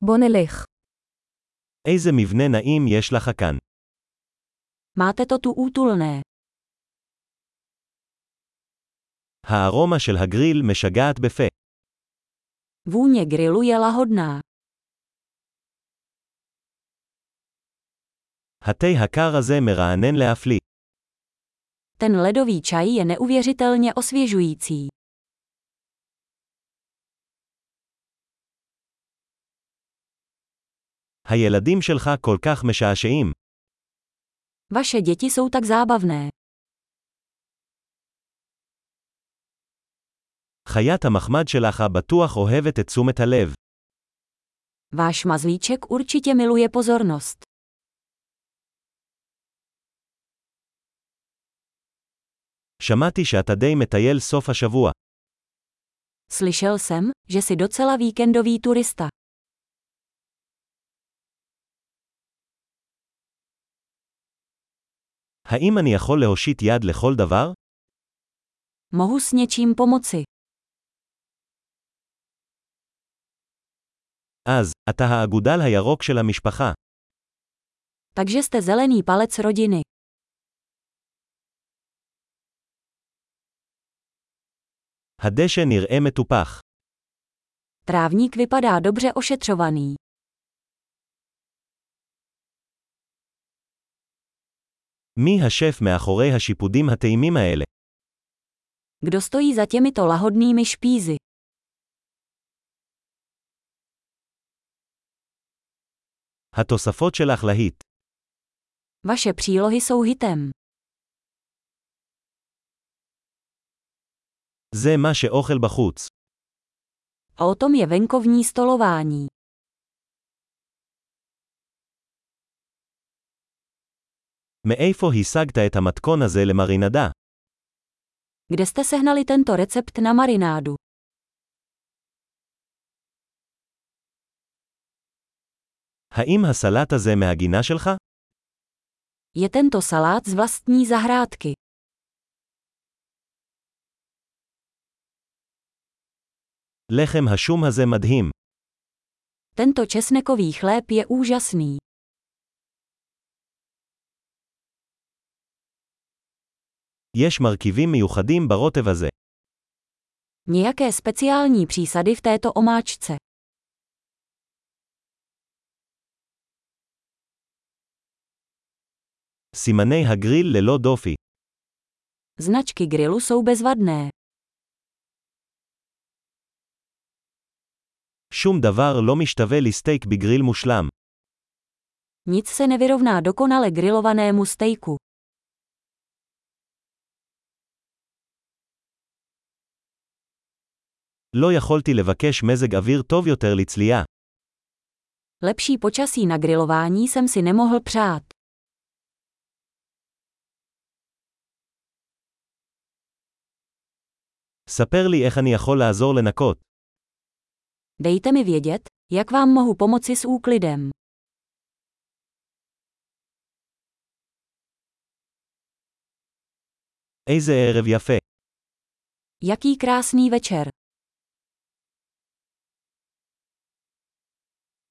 בוא נלך. איזה מבנה נעים יש לך כאן. Máte to tu útulné. הארומה של הגריל משגעת בפה. Vůně grilu je lahodná. התה הקר הזה מרענן להפליא. Ten ledový čaj je neuvěřitelně osvěžující. הילדים שלך כל כך משעשעים. Vaše děti jsou tak zábavné. חיית המחמד שלך בטוח אוהבת את תשומת הלב. Váš mazlíček určitě miluje pozornost. שמעתי שאתה די מטייל סוף השבוע. Slyšel jsem, že jsi docela víkendový turista. האם אני יכול להושיט יד לכל דבר? Mohu s něčím pomoci. אז, אתה האגודל הירוק של המשפחה. Takže jste zelený palec rodiny. הדשא נראה מטופח. Trávník vypadá dobře ošetřovaný. מי השף מאחורי השיפודים הטעימים האלה? Kdo stojí za těmito lahodnými špízy? התוספות שלך להיט. Vaše přílohy jsou hitem. זה מה שאוכל בחוץ. O tom je venkovní stolování. מאיפה השגת את המתכון הזה למרינדה? Kde jste sehnali tento recept na marinádu? האם הסלט הזה מהגינה שלך? Je tento salát z vlastní zahrádky. לחם השום הזה מדהים. Tento česnekový chléb je úžasný. יש מרכיבים מיוחדים ברוטב הזה. Nějaké speciální přísady v této omáčce. סימני הגריל ללא דופי. Značky grilu jsou bezvadné. שום דבר לא משתווה לסטייק בגריל מושלם. Nic se nevyrovná dokonale grilovanému stejku. לא יכולתי לבקש מזג אוויר טוב יותר לצלייה. Lepší počasí na grilování jsem si nemohl přát. ספר לי איך אני יכול לעזור לנקות. Dejte mi vědět, jak vám mohu pomoci s úklidem. איזה ערב יפה. Jaký krásný večer.